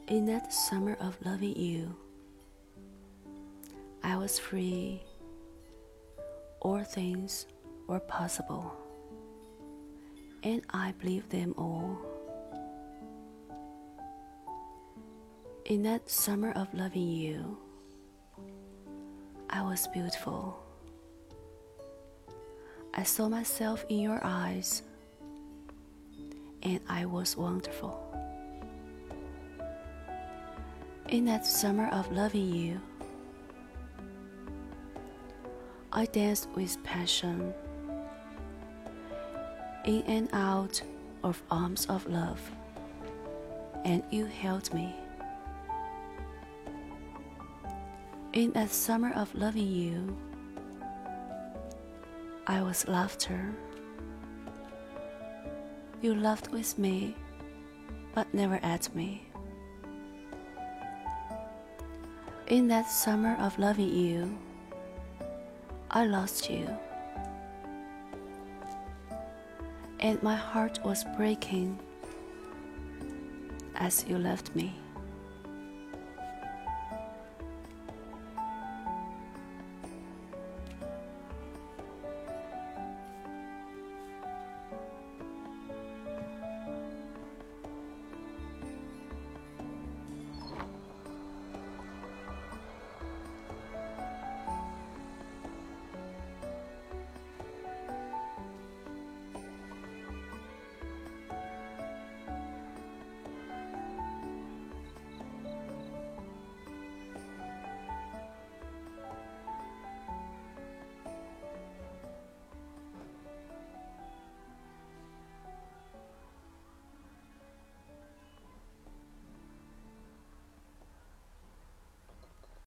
In that summer of loving you, I was free. All things were possible, and I believed them all. In that summer of loving you, I was beautiful. I saw myself in your eyes, and I was wonderful. In that summer of loving you, I danced with passion, in and out of arms of love, and you held me. In that summer of loving you, I was laughter. You laughed with me, but never at me. In that summer of loving you, I lost you, and my heart was breaking as you left me.